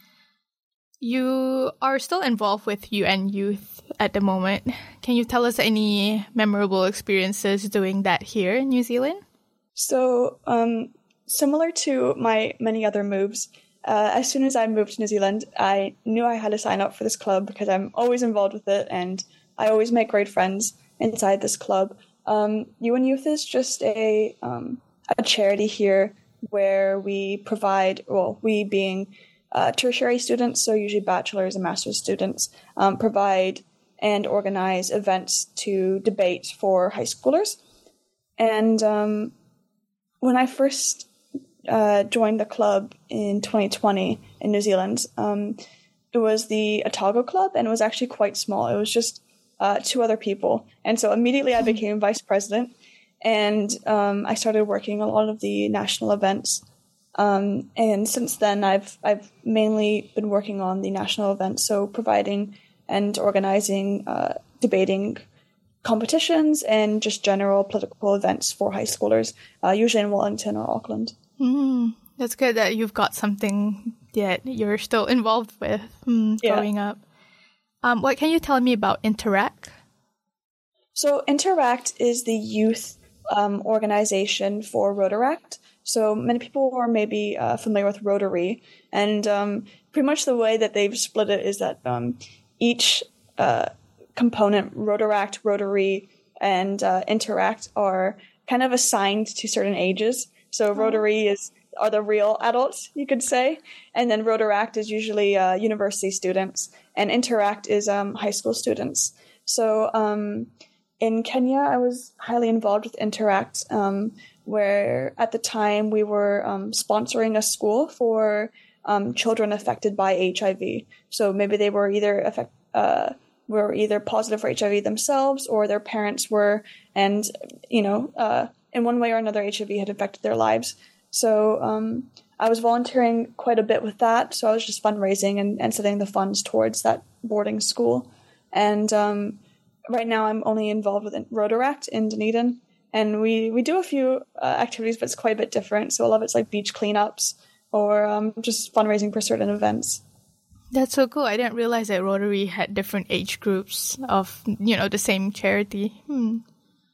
You are still involved with U N Youth at the moment. Can you tell us any memorable experiences doing that here in New Zealand? So, um, similar to my many other moves, uh, as soon as I moved to New Zealand, I knew I had to sign up for this club because I'm always involved with it, and I always make great friends inside this club. Um, U N Youth is just a um, a charity here where we provide, well, we being Uh, tertiary students, so usually bachelor's and master's students, um, provide and organize events to debate for high schoolers. And um, when I first uh, joined the club in twenty twenty in New Zealand, um, it was the Otago Club, and it was actually quite small. It was just uh, two other people. And so immediately I became vice president, and um, I started working on a lot of the national events. Um, and since then, I've I've mainly been working on the national events, so providing and organizing, uh, debating competitions and just general political events for high schoolers, uh, usually in Wellington or Auckland. Mm, that's good that you've got something that you're still involved with mm, yeah. growing up. Um, what can you tell me about Interact? So Interact is the youth um, organization for Rotaract. So many people are maybe uh, familiar with Rotary, and um, pretty much the way that they've split it is that um, each uh, component, Rotaract, Rotary, and uh, Interact, are kind of assigned to certain ages. So oh. Rotary is are the real adults, you could say, and then Rotaract is usually uh, university students, and Interact is um, high school students. So um, in Kenya, I was highly involved with Interact, um, where at the time we were um, sponsoring a school for um, children affected by H I V. So maybe they were either affect, uh, were either positive for H I V themselves, or their parents were, and you know, uh, in one way or another, H I V had affected their lives. So um, I was volunteering quite a bit with that. So I was just fundraising and, and setting the funds towards that boarding school. And um, right now, I'm only involved with Rotaract in Dunedin. And we, we do a few uh, activities, but it's quite a bit different. So a lot of it's like beach cleanups or um, just fundraising for certain events. That's so cool. I didn't realize that Rotary had different age groups of, you know, the same charity. Hmm.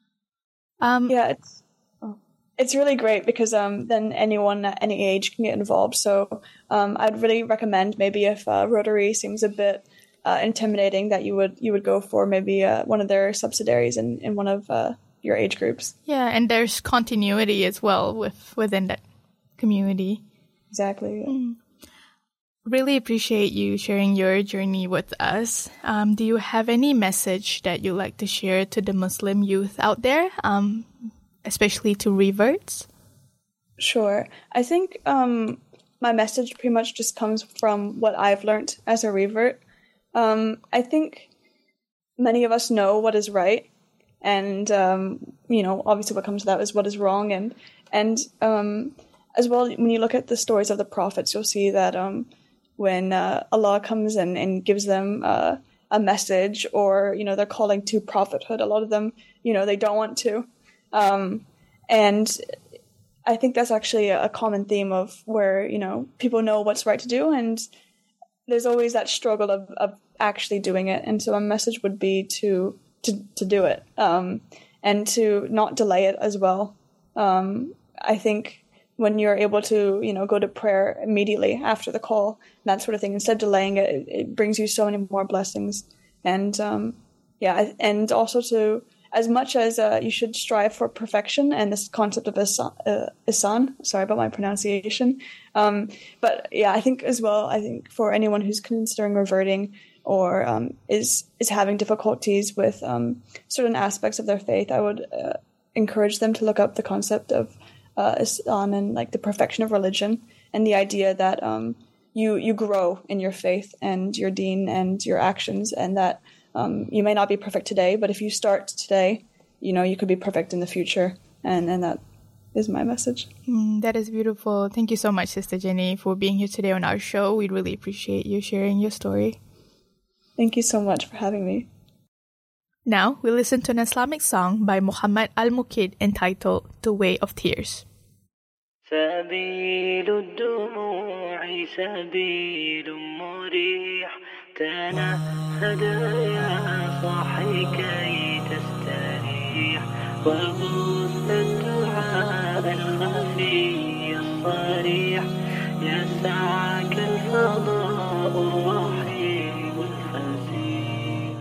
Um, yeah, it's it's really great because um, then anyone at any age can get involved. So um, I'd really recommend maybe if uh, Rotary seems a bit uh, intimidating, that you would you would go for maybe uh, one of their subsidiaries in, in one of uh, your age groups. Yeah, and there's continuity as well with within that community. Exactly. Yeah. Mm. Really appreciate you sharing your journey with us. Um, do you have any message that you'd like to share to the Muslim youth out there, um, especially to reverts? Sure. I think um, my message pretty much just comes from what I've learned as a revert. Um, I think many of us know what is right. And, um, you know, obviously what comes to that is what is wrong. And, and um, as well, when you look at the stories of the prophets, you'll see that um, when uh, Allah comes and, and gives them uh, a message, or, you know, they're calling to prophethood, a lot of them, you know, they don't want to. Um, and I think that's actually a common theme of where, you know, people know what's right to do, and there's always that struggle of, of actually doing it. And so my message would be to to, to do it, um, and to not delay it as well. Um, I think when you're able to, you know, go to prayer immediately after the call, that sort of thing, instead of delaying it, it brings you so many more blessings. And, um, yeah, and also to as much as uh, you should strive for perfection and this concept of ihsan, uh, ihsan sorry about my pronunciation. Um, but yeah, I think as well, I think for anyone who's considering reverting or um, is is having difficulties with um, certain aspects of their faith, I would uh, encourage them to look up the concept of uh, ihsan and like the perfection of religion, and the idea that um, you you grow in your faith and your deen and your actions, and that Um, you may not be perfect today, but if you start today, you know, you could be perfect in the future. And, and that is my message. Mm, that is beautiful. Thank you so much, Sister Jenny, for being here today on our show. We really appreciate you sharing your story. Thank you so much for having me. Now, we'll listen to an Islamic song by Muhammad Al-Muqid entitled The Way of Tears. سبيل الدموع سبيل مريح تنهد يا صاحي كي تستريح وبث الدعاء الخفي الصريح يسعك الفضاء الرحيم الفسيح.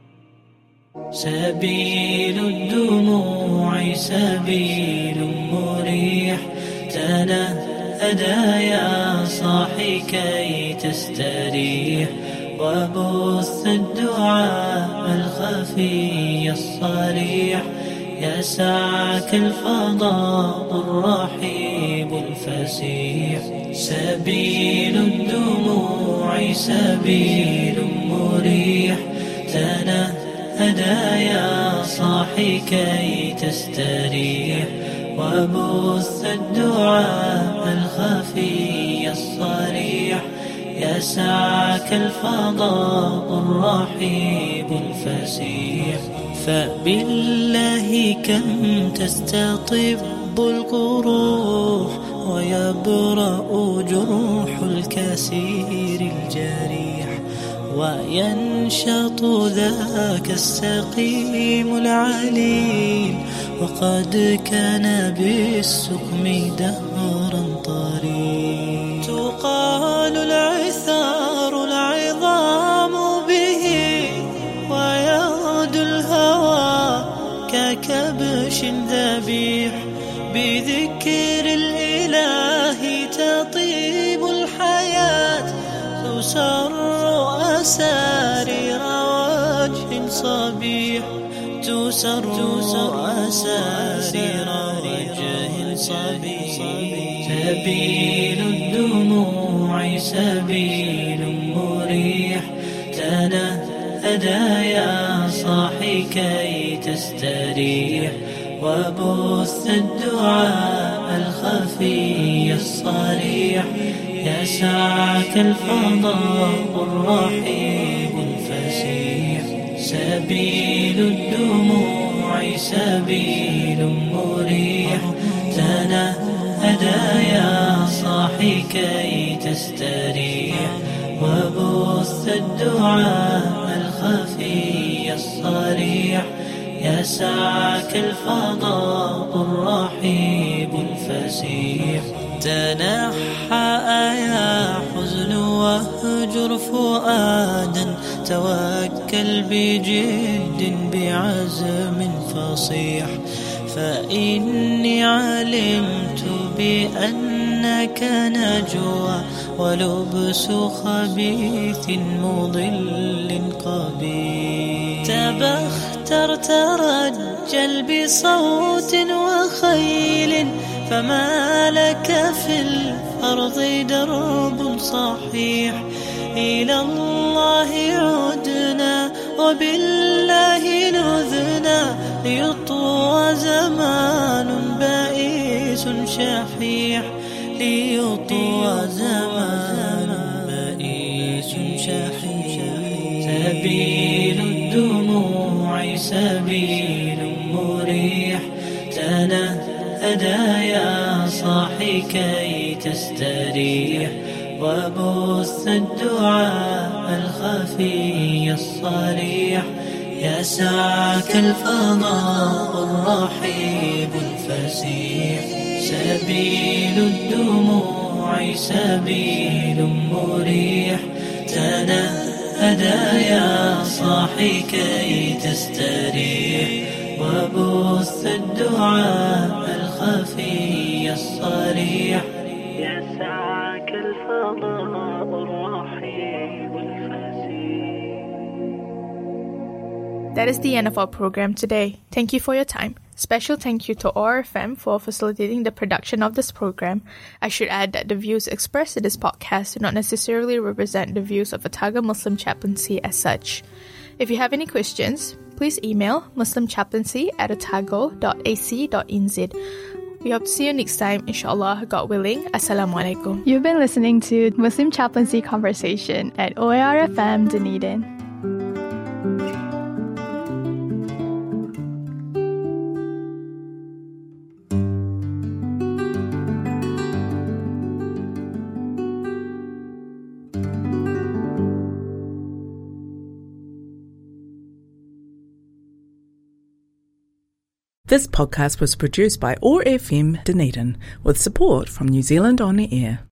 سبيل الدموع سبيل مريح تنهدى يا صاحي كي تستريح وبث الدعاء الخفي الصريح يسعك الفضاء الرحيب الفسيح. سبيل الدموع سبيل مريح تنهدى يا صاحي كي تستريح وبث الدعاء الخفي الصريح يسعك الفضاء الرحيب الفسيح. فبالله كم تستطب القروح ويبرأ جروح الكسير الجريح وينشط ذاك السقيم العليل وقد كان بالسقم دهرا طريق. تقال العثار العظام به ويغدو الهوى ككبش ذبيح بذكر الإله تطيب الحياة تسر أسارير وجه صبيح تسر أسارير وجه صبيح. سبيل الدموع سبيل مريح تنهدى يا صاحي كي تستريح وبث الدعاء الخفي الصريح يسعك الفضاء الرحيب الفسيح. سبيل الدموع سبيل مريح تنهدى يا صاحي كي تستريح وبث الدعاء الخفي الصريح يسعك الفضاء الرحيب الفسيح. تنحى يا حزن واهجر فؤادا توكل بجد بعزم فصيح فإني علمت بأنك نجوى ولبس خبيث مضل قبيح. تبختر ترجل بصوت وخيل فما لك في الأرض درب صحيح. إلى الله عدنا وبالله نذنا ليطوى زمان بائس شحيح ليطوى زمان بائس شحيح. سبيل الدموع سبيل مريح تنهدى يا صاحي كي تستريح وبث الدعاء الخفي الصريح يسعك الفضاء الرحيب الفسيح. سبيل الدموع سبيل مريح تنهدى يا صاحي كي تستريح وبث الدعاء الخفي الصريح يسعك الفضاء الرحيم الفسيح. That is the end of our program today. Thank you for your time. Special thank you to O R F M for facilitating the production of this program. I should add that the views expressed in this podcast do not necessarily represent the views of Otago Muslim Chaplaincy as such. If you have any questions, please email muslimchaplaincy at otago dot a c dot n z. We hope to see you next time, inshallah, God willing. Assalamualaikum. You've been listening to Muslim Chaplaincy Conversation at O A R F M Dunedin. This podcast was produced by O R F M Dunedin with support from New Zealand On the Air.